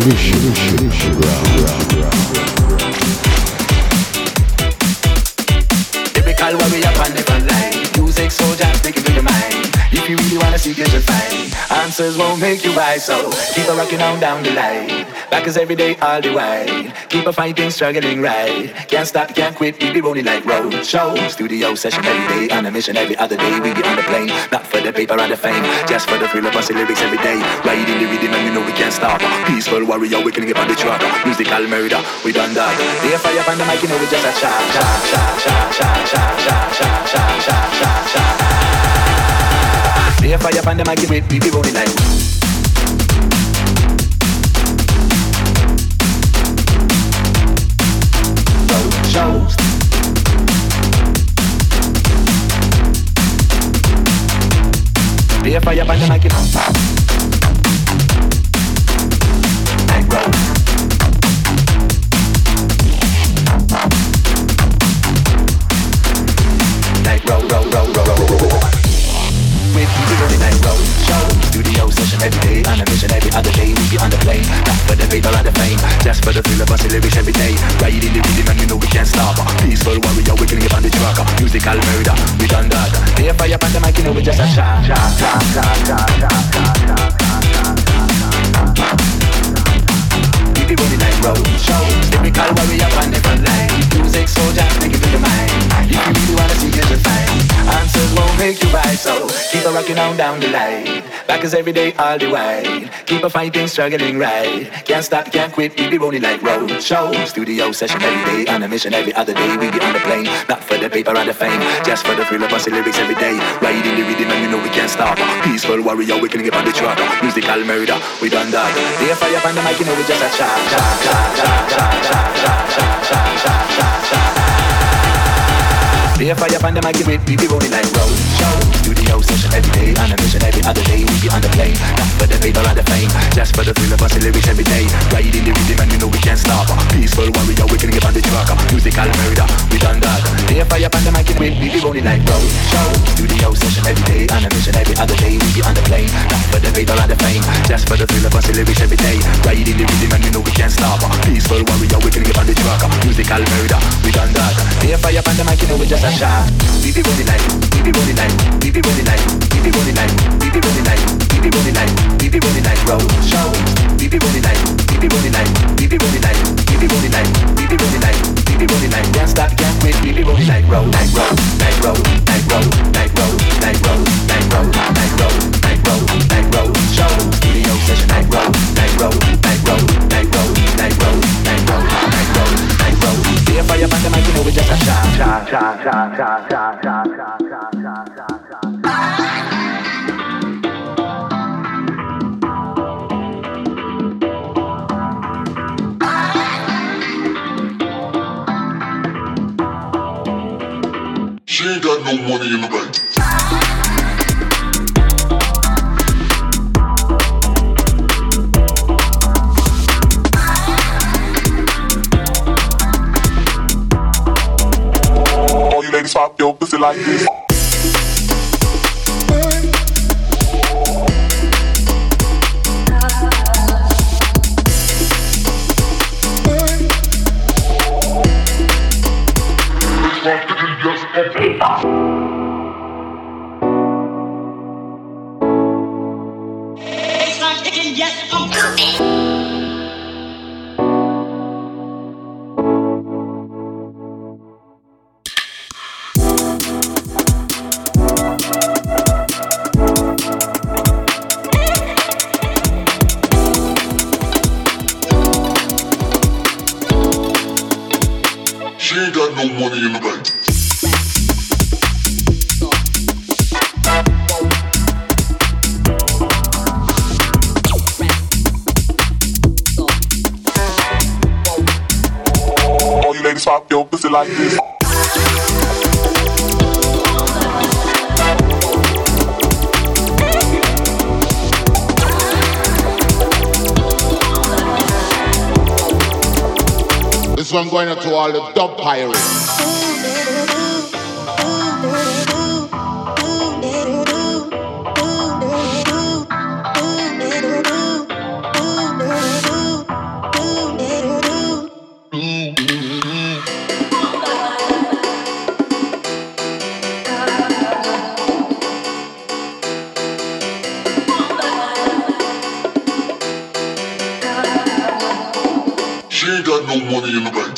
Mission ground. Typical warrior on the front line. Music soldier, take it to your mind. If you really wanna seek it, you'll find answers won't make you wise. So keep on rocking on down the line. Back is every day, all the while. Keep on fighting, struggling right. Can't stop, can't quit, we be rolling like road show. Studio session every day, on a mission every other day. We be on the plane, not for the paper and the fame, just for the thrill of busting lyrics every day. Riding the rhythm and you know we can't stop. Peaceful warrior, we killing it on the track. Musical murder, we done that. They fire up on the mic, you know we just a chop, chop, chop, chop, chop, chop, chop, chop, chop, chop, chop, chop. They fire up on the mic, we be rolling like. Shows. Be a fire band and I get on top. Like roll. Like roll, roll, roll, roll, roll, roll. With people running like roll. Show. Studio session every day, on a mission every other day. We be on the plane, not for the paper and the fame, just for the thrill of busting lyrics every day. Riding the rhythm and you know we can't stop. Peaceful warrior, we killing it on the track. Musical murder, we done that. They fire up on the mic, you know we just a shot. We be running like road shows. Typical warrior on the front line. Music soldier, take it to your mind. If you really wanna see it, you'll find answers won't make you right. So keep on rocking on down the line. Back is every day, all the while. Keep on fighting, struggling right. Can't stop, can't quit, we be rolling like road shows. Studio session every day, on a mission every other day. We be on the plane, not for the paper and the fame, just for the thrill of busting lyrics every day. Riding the rhythm and you know we can't stop. Peaceful warrior, we killing it on the track. Musical murder, we done that. They fire up on the mic, you know we just a chop, chop, chop, chop, chop, chop, chop, chop, chop, chop, chop, chop. They fire up on the mic, we be rolling like road show. Studio session every day, on a mission every other day. We be on the plane, not for the paper and the fame, just for the thrill of busting lyrics every day. Riding the rhythm and you know we can't stop. Peaceful warrior, we killing it on the track. Musical murder, we done that. They fire up on the mic, we be rolling like road show. Studio session every day, on a mission every other day. We be on the plane, not for the paper and the fame, just for the thrill of busting lyrics every day. Riding the rhythm and you know we can't stop. Peaceful warrior, we killing it on the track. Musical murder, we done that. They fire up on the mic, you know we just a shot. We be rolling like, we be rolling like, we be rolling like, we be rolling like, we be rolling like, we be rolling like, we be rolling like road shows. We be rolling like, we be rolling like, we be rolling like, we be rolling like, we be rolling like, we be rolling like. Can't stop, can't quit. We be rolling like road, like road, like road, like road, like road, like road, like road, like road, like road, like road shows. Studio session like road, like road, like road, like road, like road, like road, like road, like road. Be a fire on the mic, you know we just a shot, shot, shot, shot, shot, shot, shot, shot, shot, shot, shot. She ain't got no money in the bank. All you ladies pop your pussy like this. She ain't got no money in the bank. All you ladies pop your pussy like this. This one going out to all the dub pirates. She ain't got no money in the bank.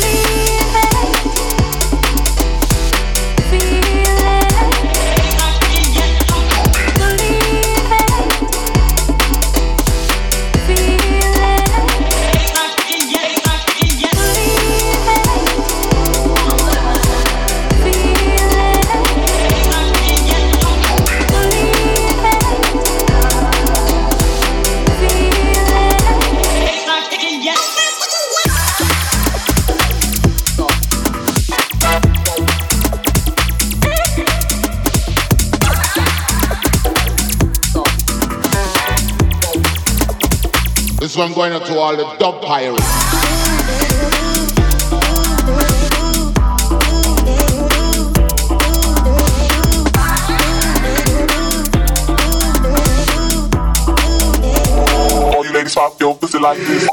This one going out to all the dub pirates. All you ladies pop your pussy like this.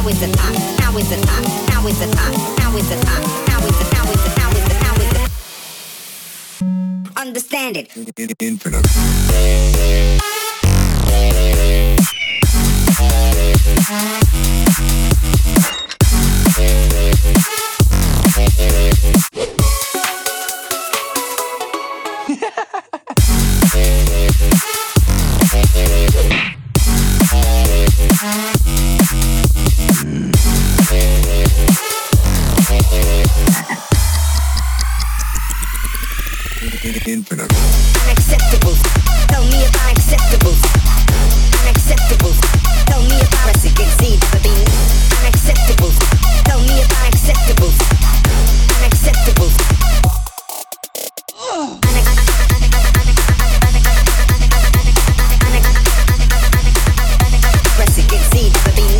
is it hot? How is it hot? How is it hot? How is it hot? How is it? How is it? How is it? How is it? Understand it. Infinite. Infinite. Unacceptables. Tell me about acceptables. Unacceptables. Tell me about Mexican seed for being unacceptables. Tell me about acceptables. Unacceptables. Mexican seed for being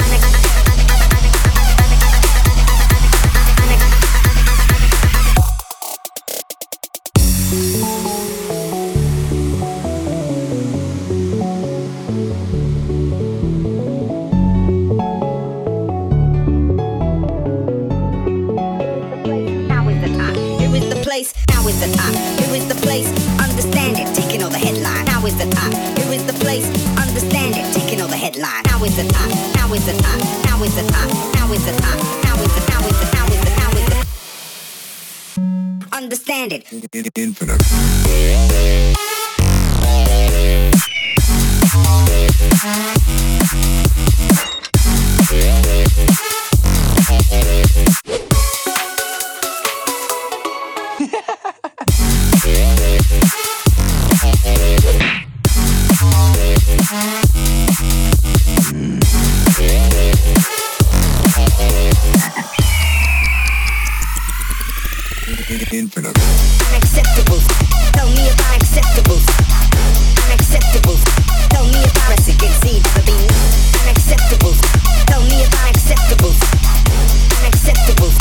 understand it. Infinite. Infinite. Unacceptables. Tell me about acceptables. Unacceptables. Tell me about Mexican seed for being unacceptables. Tell me about acceptables. Unacceptables.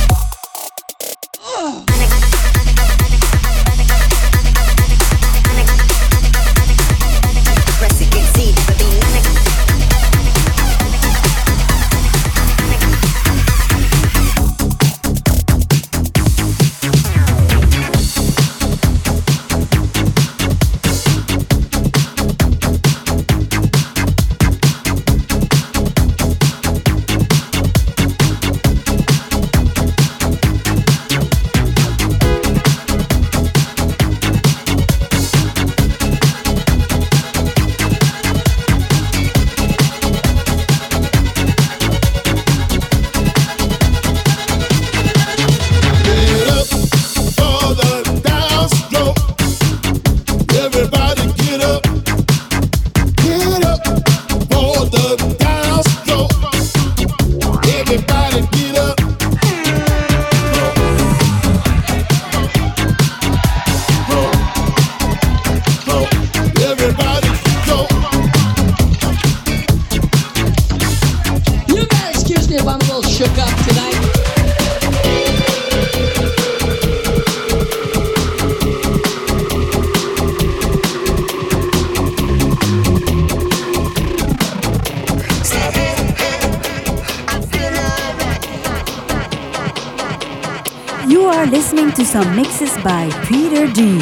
Mexican seed for being listening to some mixes by Peter D.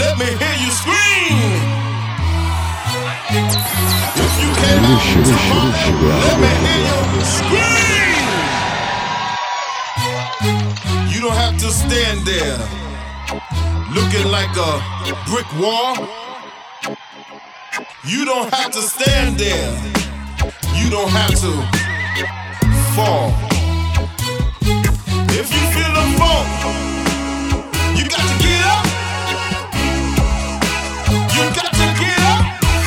let me hear you scream. If you came out tomorrow, let me hear you scream. You don't have to stand there looking like a brick wall. You don't have to stand there. You don't have to fall. If you feel the funk, you got to get up. You got to get up.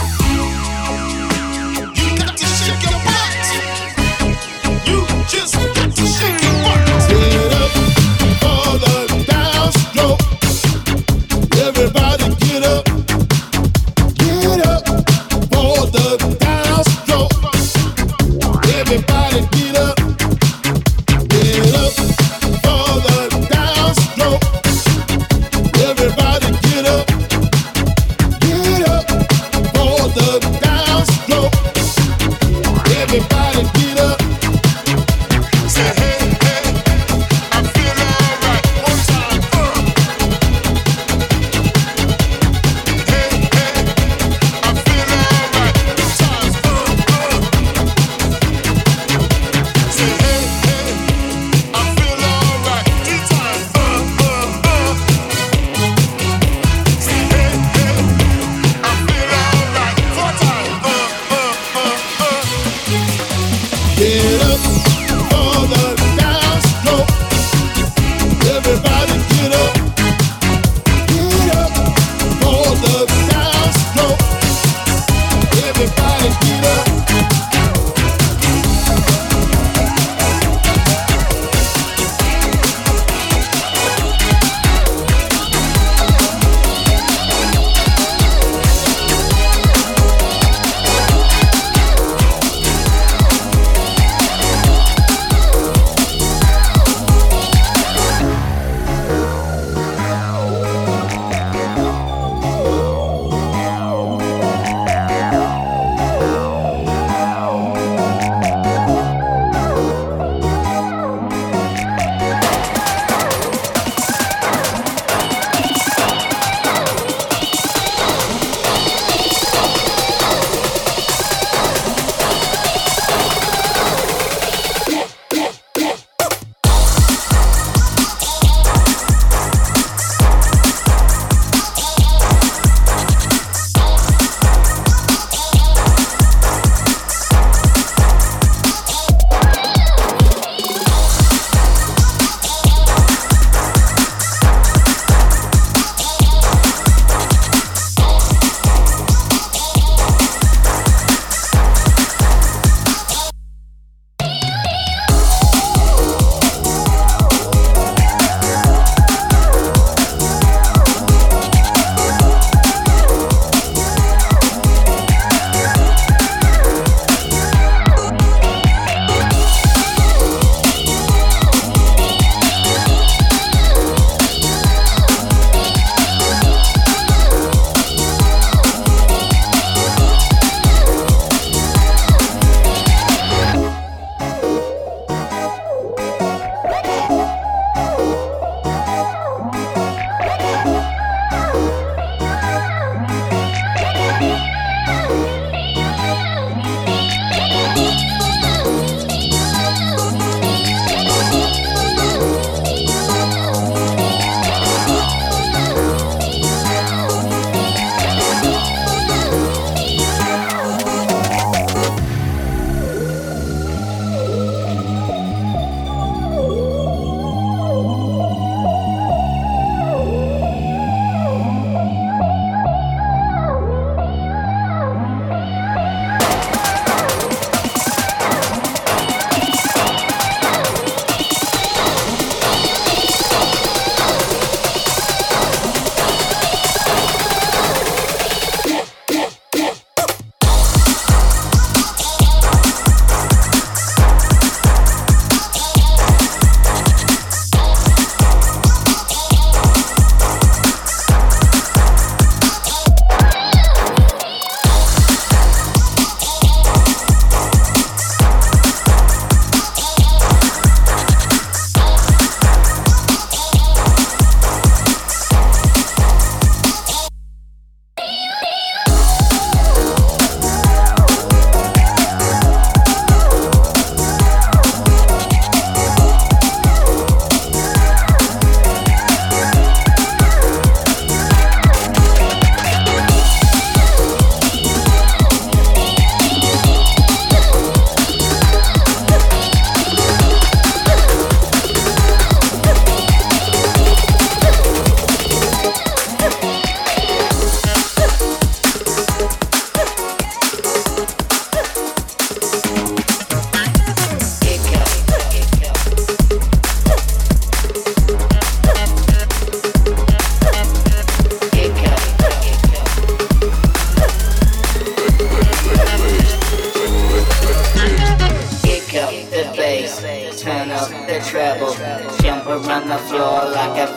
You got to shake your butt. You just got to shake your butt. Get up for the downstroke. Everybody get up. Get up for the downstroke. Everybody get up. Get up for the downstroke.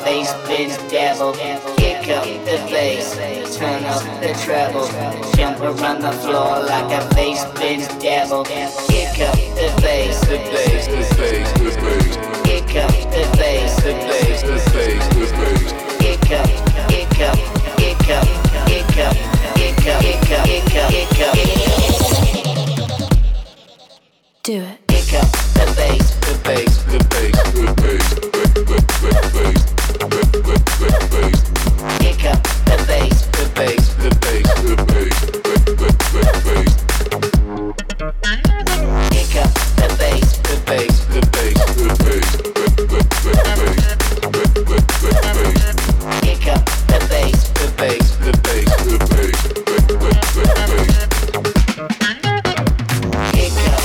bass, bend, dabble, kick up the bass, turn up the treble, jump around the floor like a bass, bend, dabble, kick up the bass, the bass, the bass, the bass, kick up the bass, the bass, the bass, the bass, kick up, kick up, kick up, kick up, kick up, kick up, kick up, kick up. Do it. Kick up the bass, the bass, the bass, the bass, the bass, the bass. Kick up the bass, the bass, the bass, the bass, the bass. Kick up the bass, the bass, the bass, the bass, the bass, the bass. Kick up the bass, the bass, the bass, the bass, the bass. Kick up.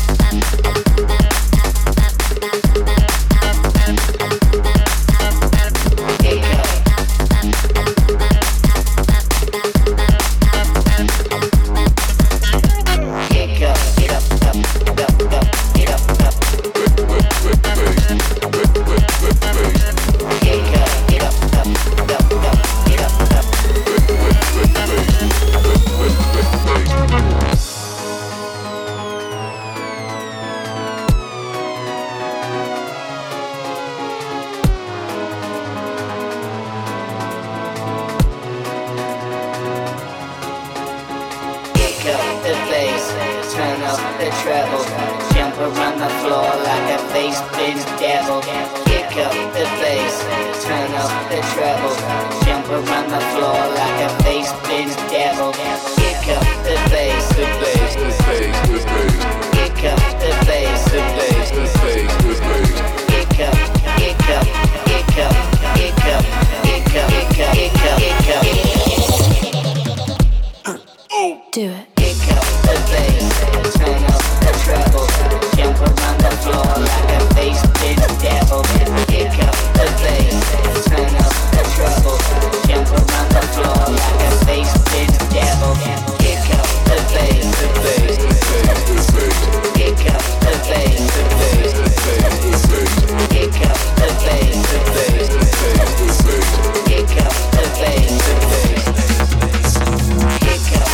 Do it. Kick up the bass, turn up the treble, jump around the floor like a bass, bend, dabble. Kick up the bass, turn up the treble, jump around the floor like a bass, bend, dabble. Kick up the bass, the bass, the bass, the bass. Kick up the bass, the bass, the bass, the bass. Kick up the bass, the bass, the bass, the bass. Kick up the bass, the bass. Kick up.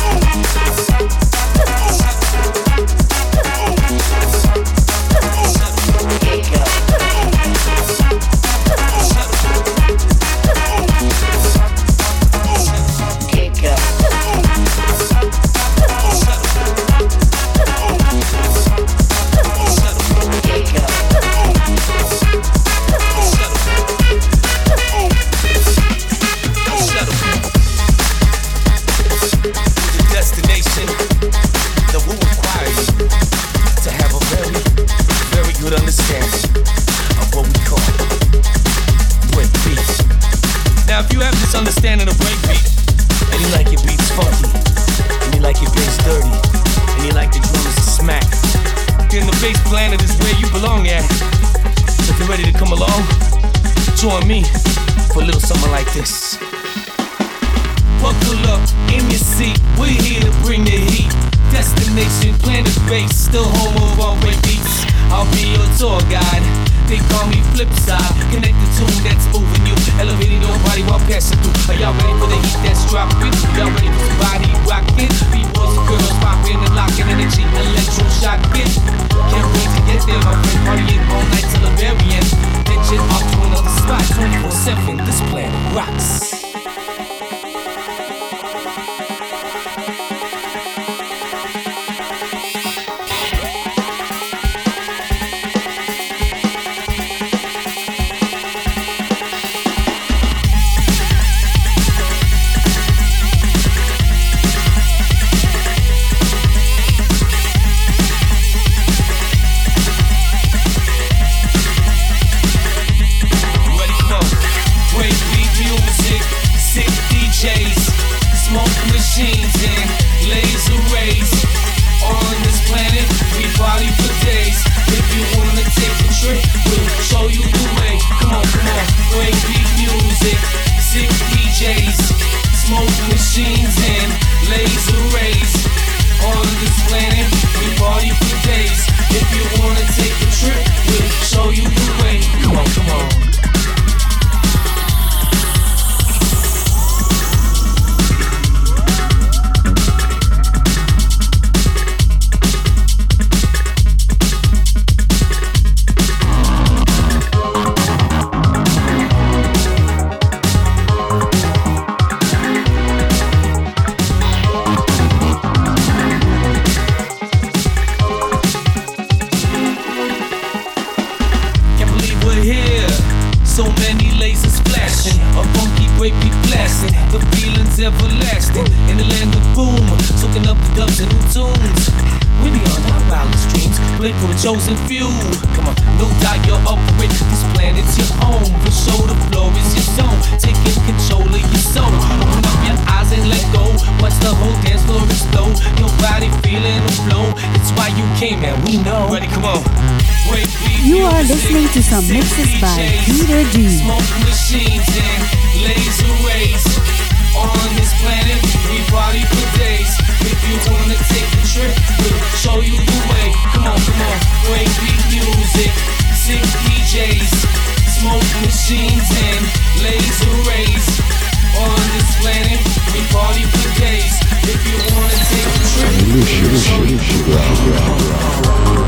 Understanding of breakbeat, and you like your beats funky, and you like your bass dirty, and you like the drums to smack, then the bass planet is where you belong at. So if you're ready to come along, join me for a little something like this. Buckle up in your seat, we're here to bring the heat. Destination, planet base, still home of all great beats. I'll be your tour guide. They call me Flipside. Connect the tune that's moving you, elevating your body while passing through. Are y'all ready for the heat that's dropping? Y'all ready for some body rocking? B-boys and girls popping and locking energy, electro shocking. Can't wait to get there, my friend. Partying all night till the very end. Then jet off to another spot, 24/7. This planet rocks. relaxing, the feeling's everlasting. In the land of boom, soaking up the dubs and new tunes. We beyond our wildest dreams, play for a chosen few. Come on, no doubt you're up for it. This planet's your home, for sure the floor is your zone. Taking control of your soul. Open up your eyes and let go. Watch the whole dance floor explode. Your body feeling the flow. It's why you came, man. We know. Ready, come on. You are listening to some mixes by Peter D. Smoke machines and laser rays. On this planet, we party for days. If you wanna take a trip, we'll show you the way. Come on, come on. Breakbeat music, sick DJs, smoke machines and laser rays. On this planet, we party for days. If you wanna take a trip, we'll show you the way.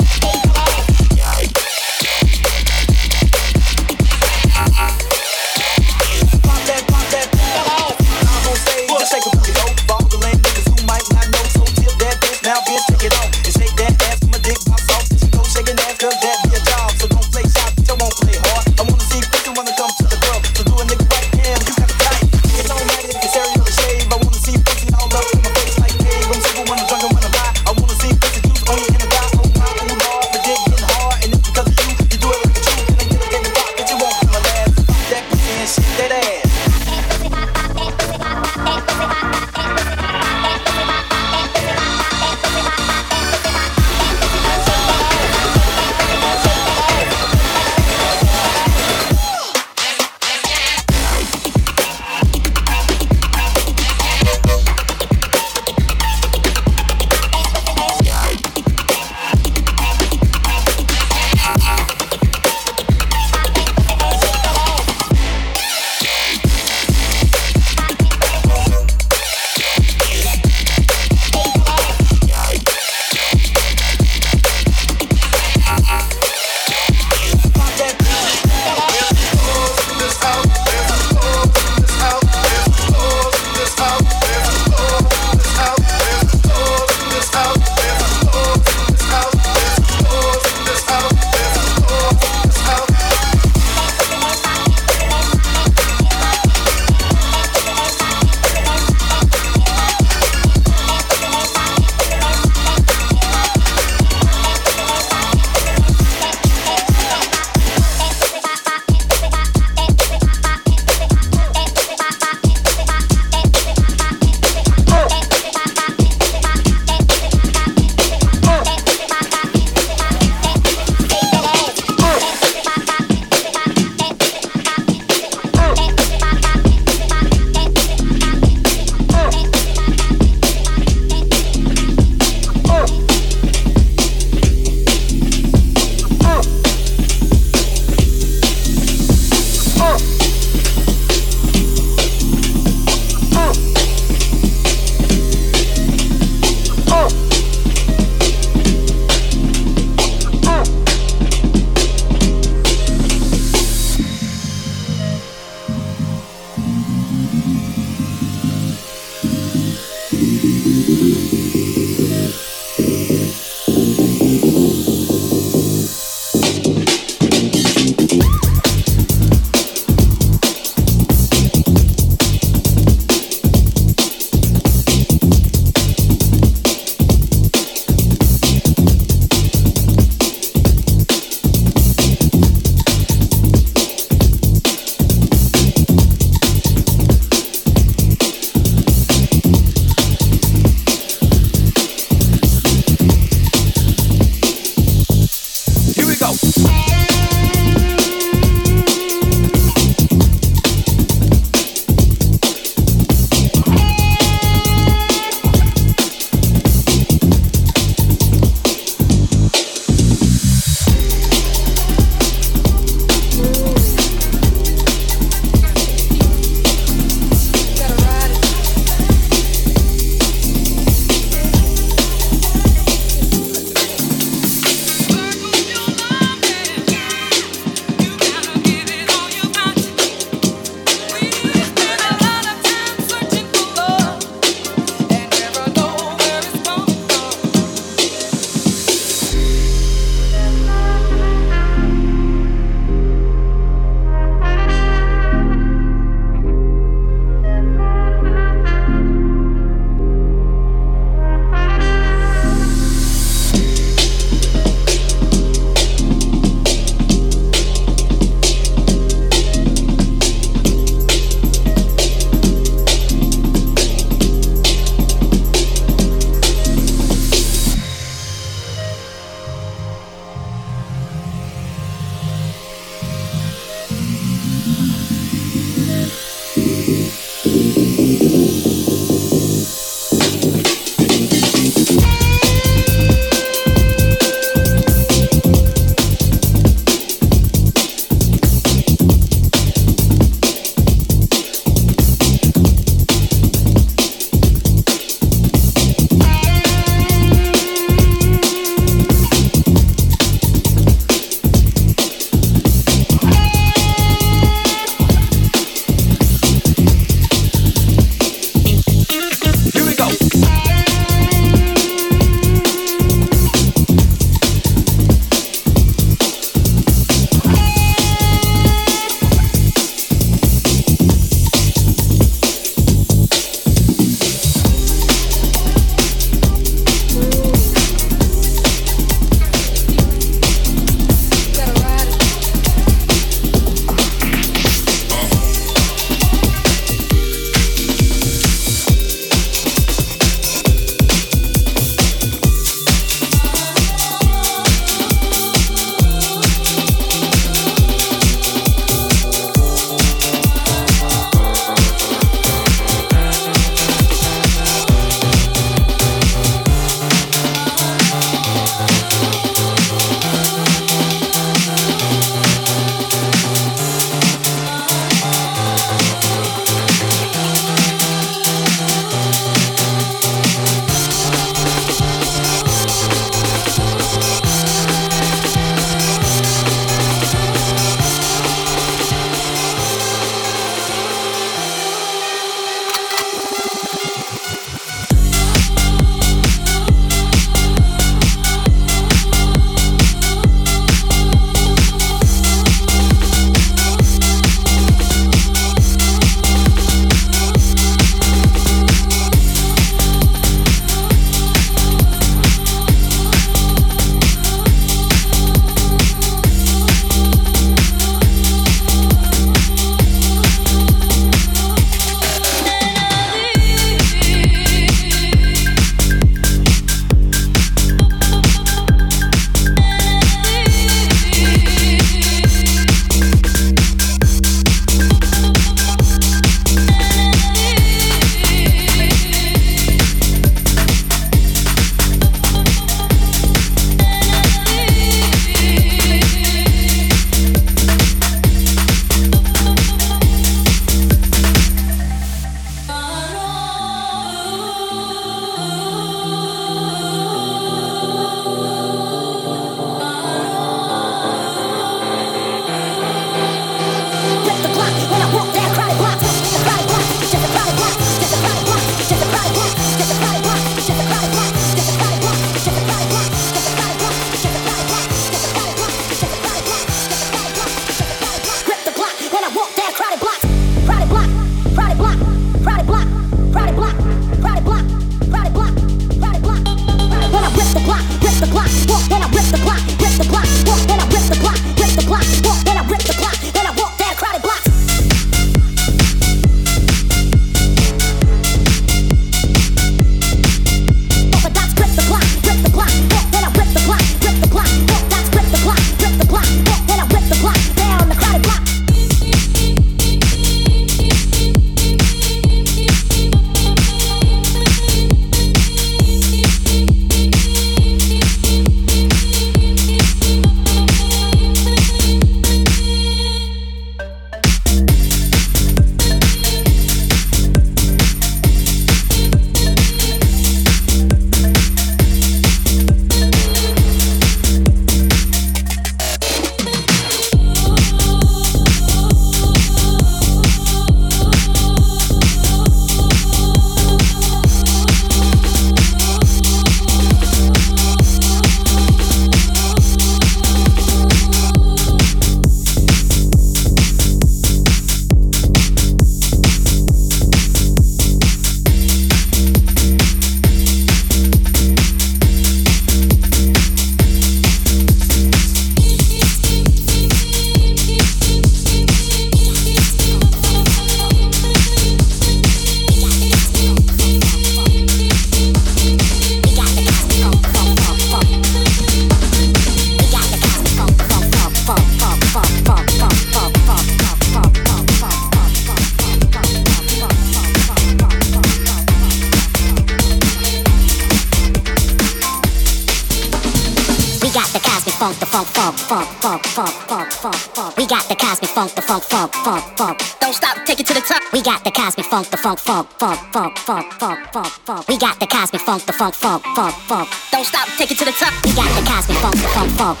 We got the cosmic funk, the funk, funk, funk, funk. Don't stop, take it to the top. We got the cosmic funk, the funk, funk, funk, funk, funk, funk, funk, funk. We got the cosmic funk, the funk, funk, funk, funk. Don't stop, take it to the top. We got the cosmic funk, the funk, funk.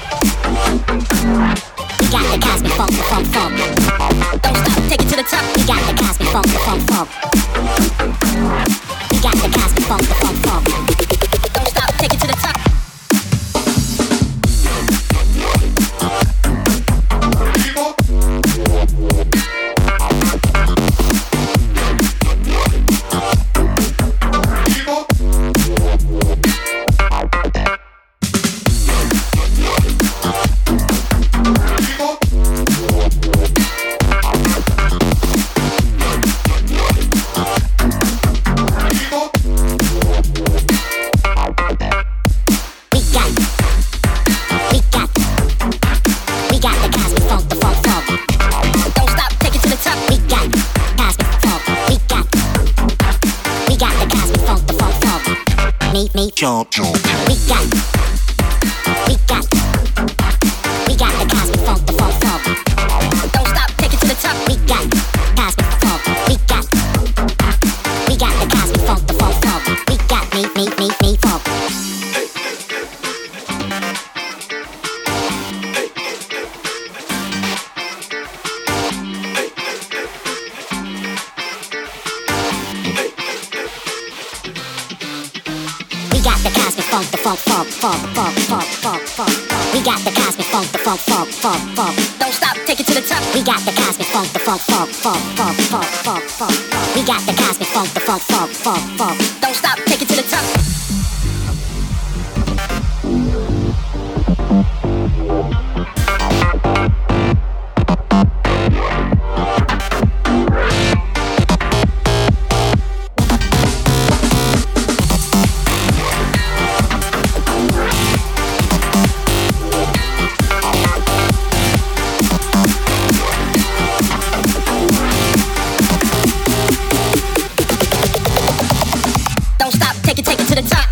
We got the cosmic funk, the funk, funk. Don't stop, take it to the top. We got the cosmic funk, the funk, funk. We got the cosmic funk, the funk, funk. Don't stop, take it to the top. Jump, jump. We got the cosmic funk, the funk, funk. Don't stop, take it to the top. We got cosmic funk. We got the cosmic funk, the funk, funk. We got me funk. Funk, the funk, funk, funk, funk, funk, funk, funk. We got the cosmic funk, the funk, funk, funk, funk. Don't stop, take it to the top. We got the cosmic funk, the funk, funk, funk, funk, funk, funk, funk. We got the cosmic funk, the funk, funk, funk, funk. Don't stop, take it to the top. Take it to the top.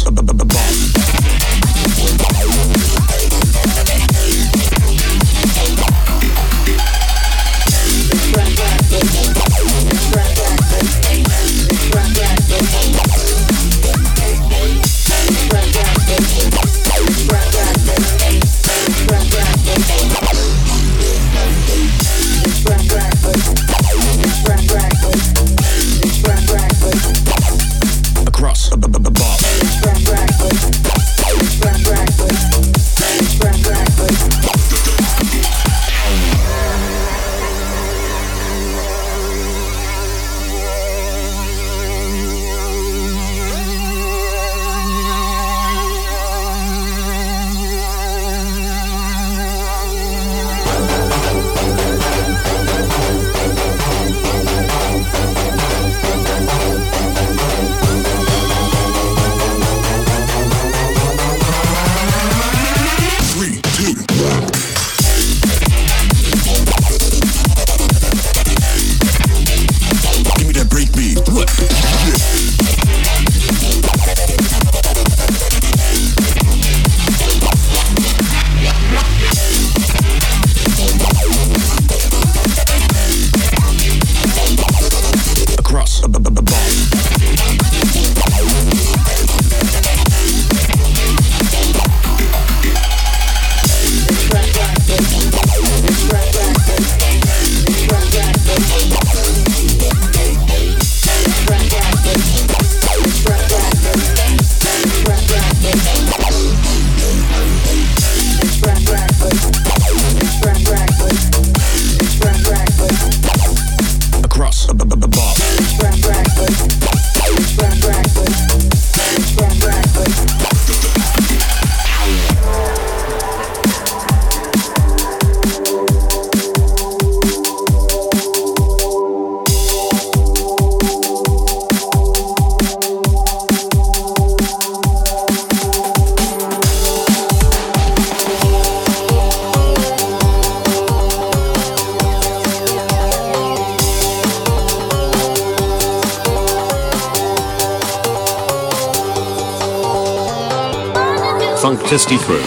Funktasty Crew.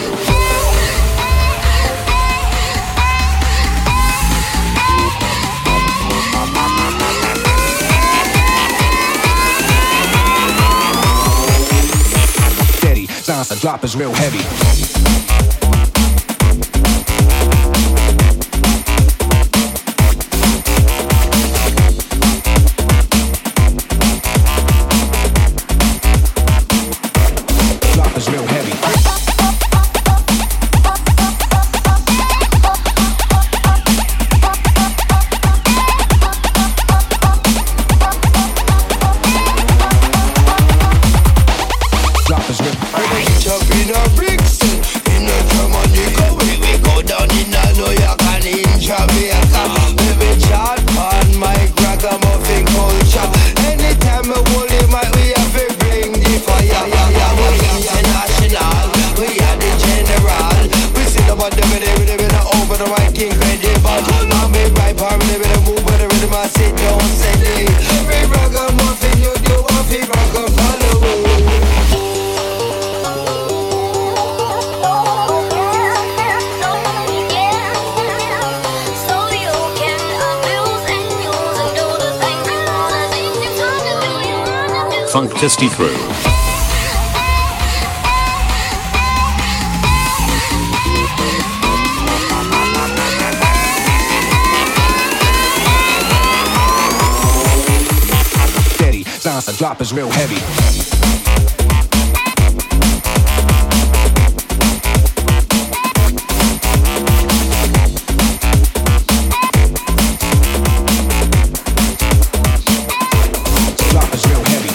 Sounds the drop is real heavy. Drop is real heavy. Drop is real. Jump in a bricks, in a Jamaica, we go down in a New York and in Jamaica. Baby chat on my ragamuffin culture. Anytime we hold the mic, we have to bring the fire. We international, we are the general. We sit up on the rhythm, over the mic, incredible. Now me right palm, the move with the rhythm, I sit down, say every ragamuffin you do, I feel rock and follow. Funktasty Crew. Steady, sounds the drop is real heavy. Drop is real heavy.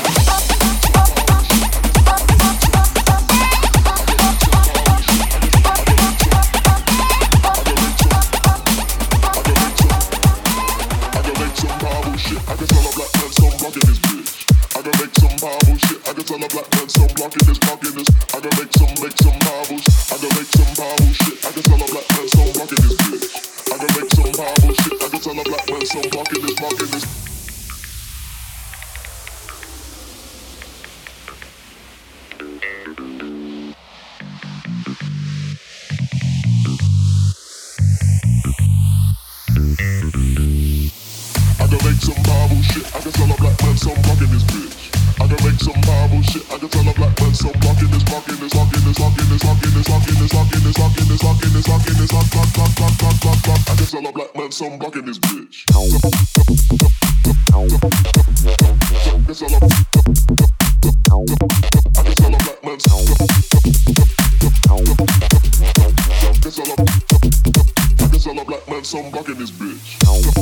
shit. I can tell a black man some rockin' this bitch. I can make some Bible shit. I can tell a black man some rockin' this, rockin' this, rockin' this, rockin' this, rockin' this, rockin' this, rockin' this, rockin' this, rockin' this, rockin' this, rock, rock, rock, rock, rock, rock, rock. I can tell a black man some rockin' this bitch. I can tell a black man some. Tell a black man some rockin' this bitch.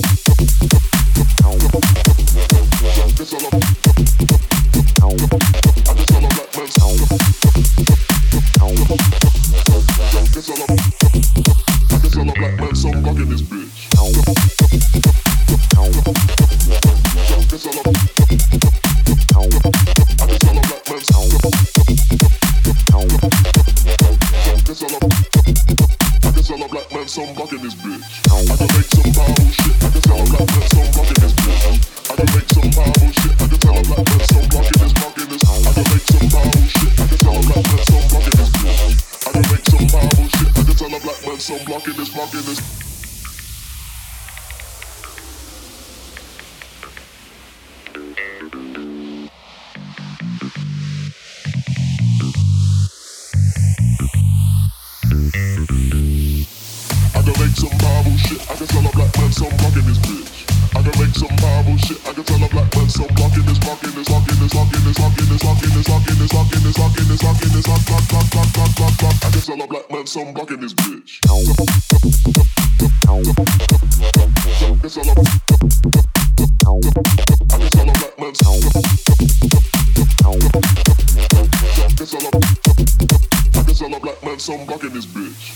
Some buck in this bitch. I can make some Bible shit. I can tell a black man some buck in this bitch. I can make some Bible shit. I can tell a black man some buck in this, buck in this. I can make some Bible shit. I can tell a black man some buck in this bitch. I can make some Bible shit. I can tell a black man some buck in this, buck in this. Some Bible shit, I can tell a black man some rock in this bitch. I can make some Bible shit, I can tell a black man some rock in this, rock in this, rock in this, rock in this, rock in this, rock in this, rock in this, rock in this, rock in this, rock in this, rock, rock, rock, rock, rock, rock, rock. I can tell a black man some rock in this bitch. I can tell a black man some. I can tell a black man some rock in this bitch.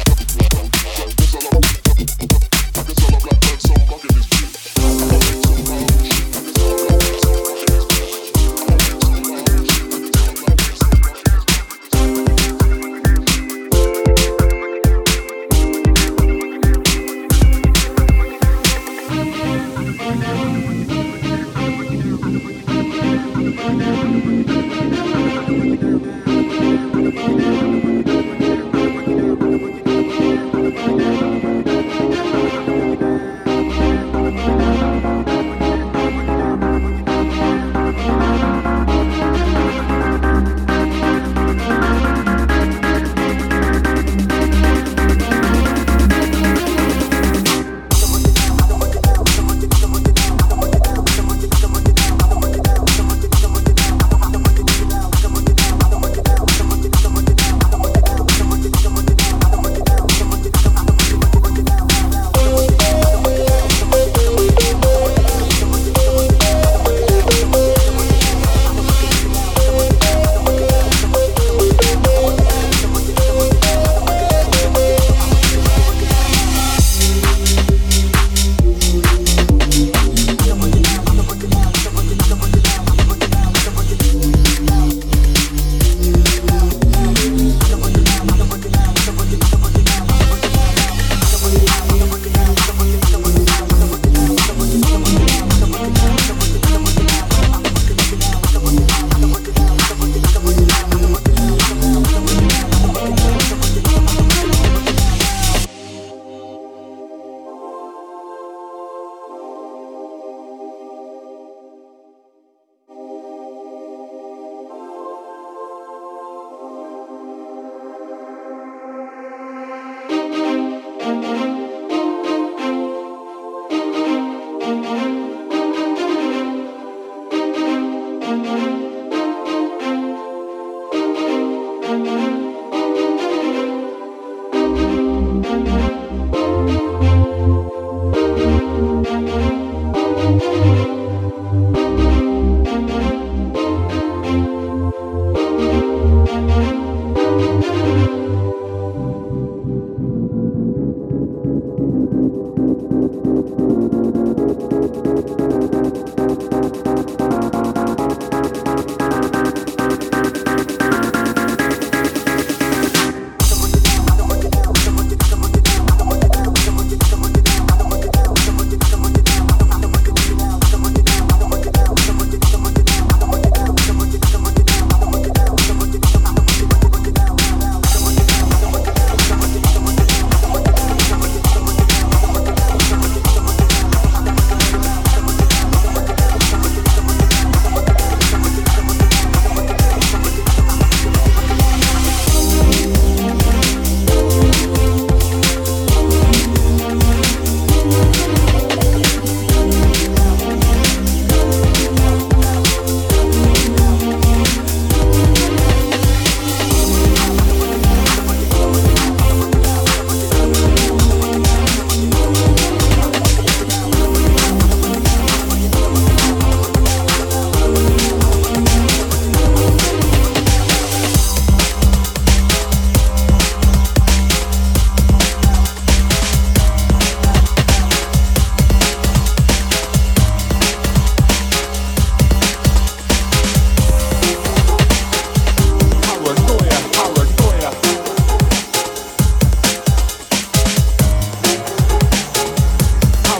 Some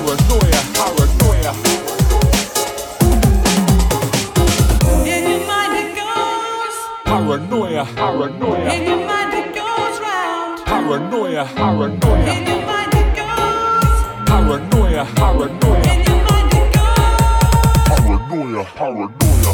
Paranoia, paranoia. In your mind it goes. Paranoia, paranoia. In your mind it goes round. Paranoia, paranoia. In your mind it goes. Paranoia, paranoia. In your mind it goes. Paranoia, paranoia.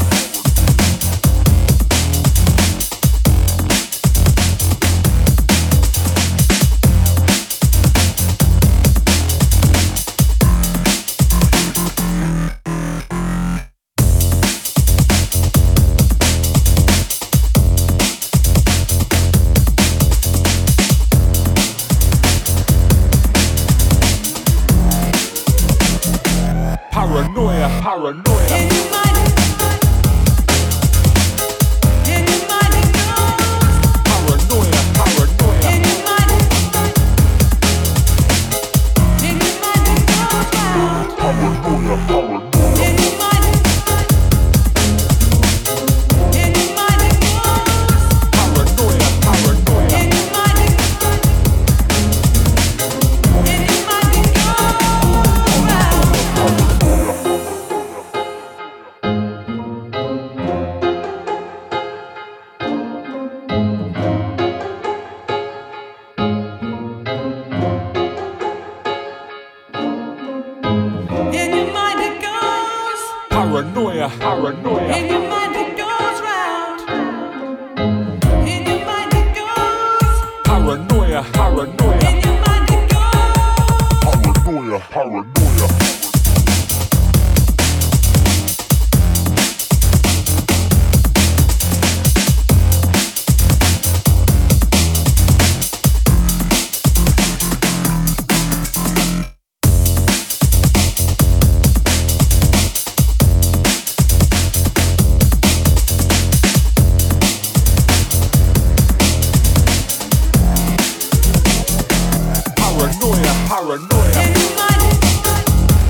Paranoia, paranoia. In your mind it in your mind it goes. Paranoia, paranoia. In your mind it goes round. Paranoia, paranoia. In your mind it goes. Paranoia, paranoia. In your mind it Paranoia, paranoia. In your mind it goes round. In your mind it goes. Paranoia, paranoia. In your mind it goes. Paranoia, paranoia. Paranoia, paranoia. In your mind it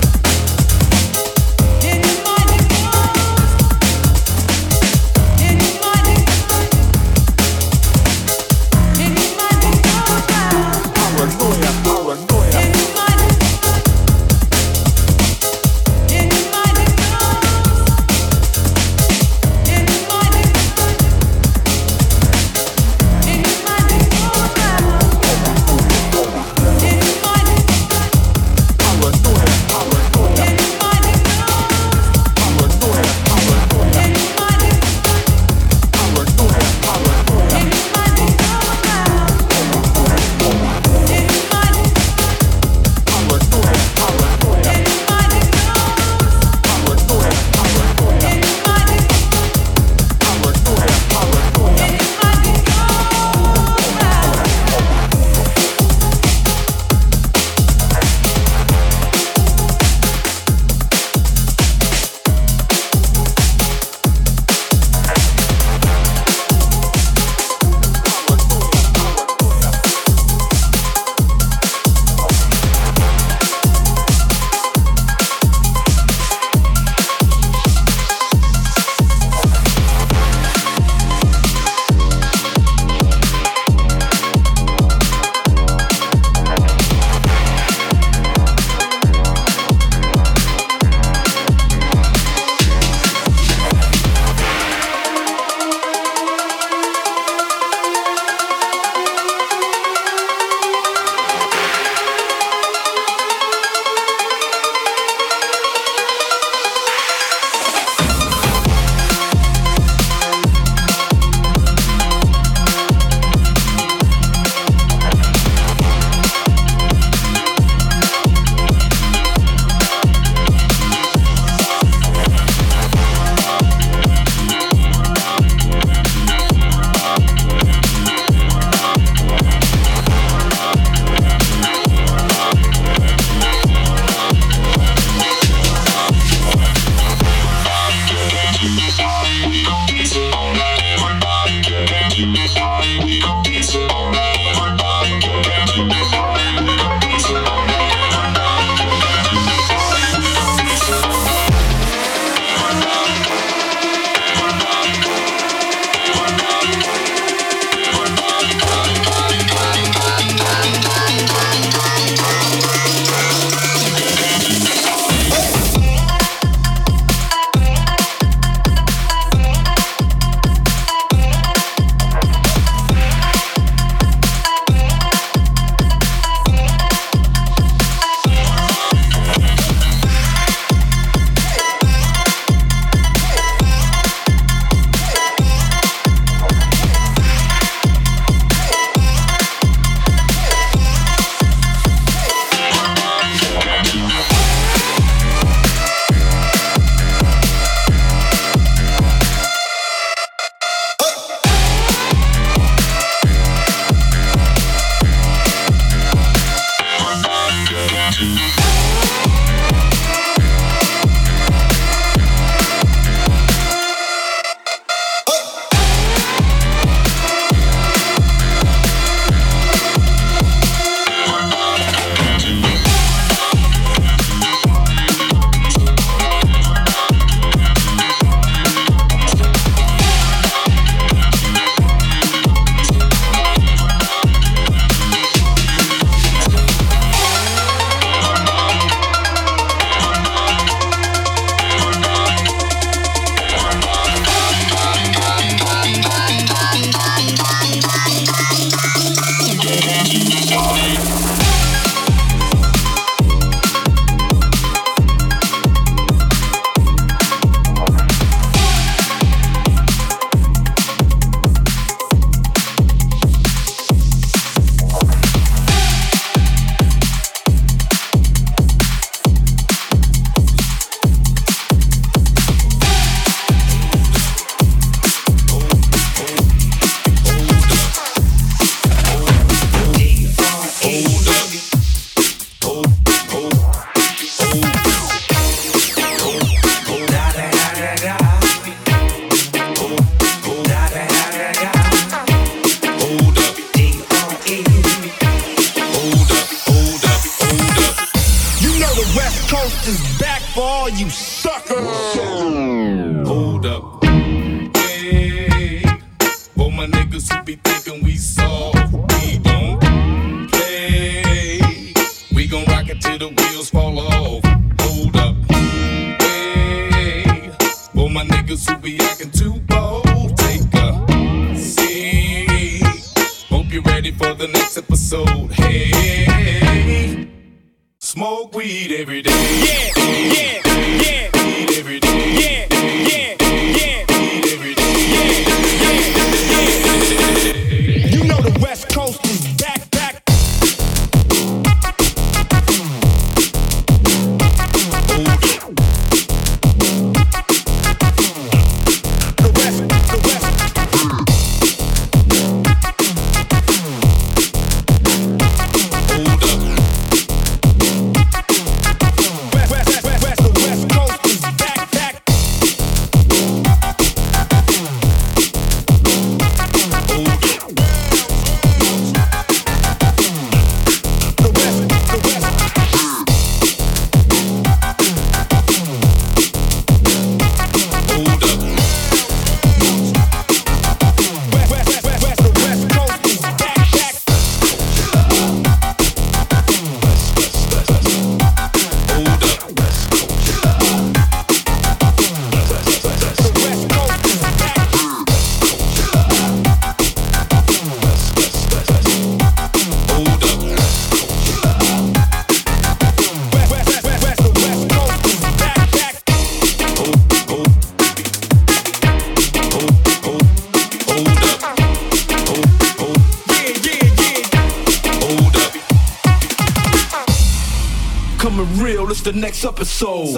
The next episode.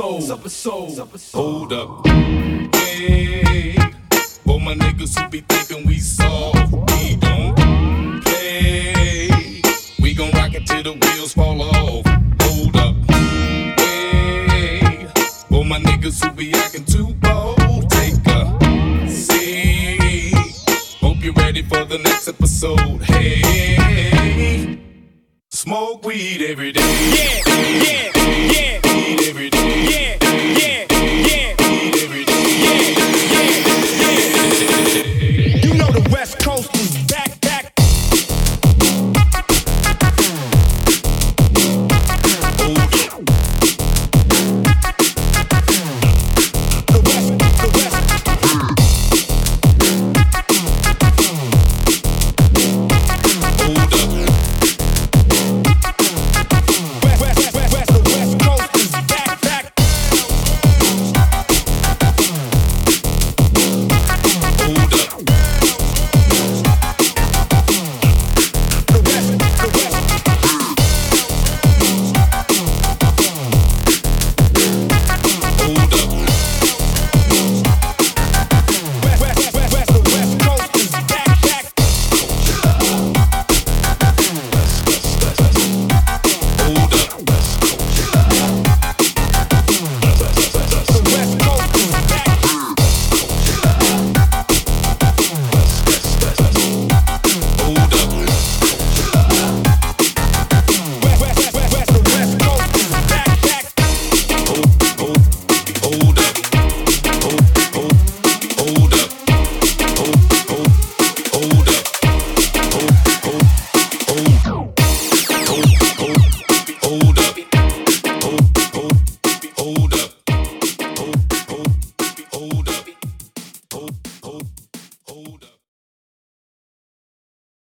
Hold up. Hey, all my niggas who be thinking we soft, we don't play. We gon' rock it till the wheels fall off. Hold up. Hey, all my niggas who be acting too bold, take a seat. Hope you're ready for the next episode. Hey, smoke weed every day.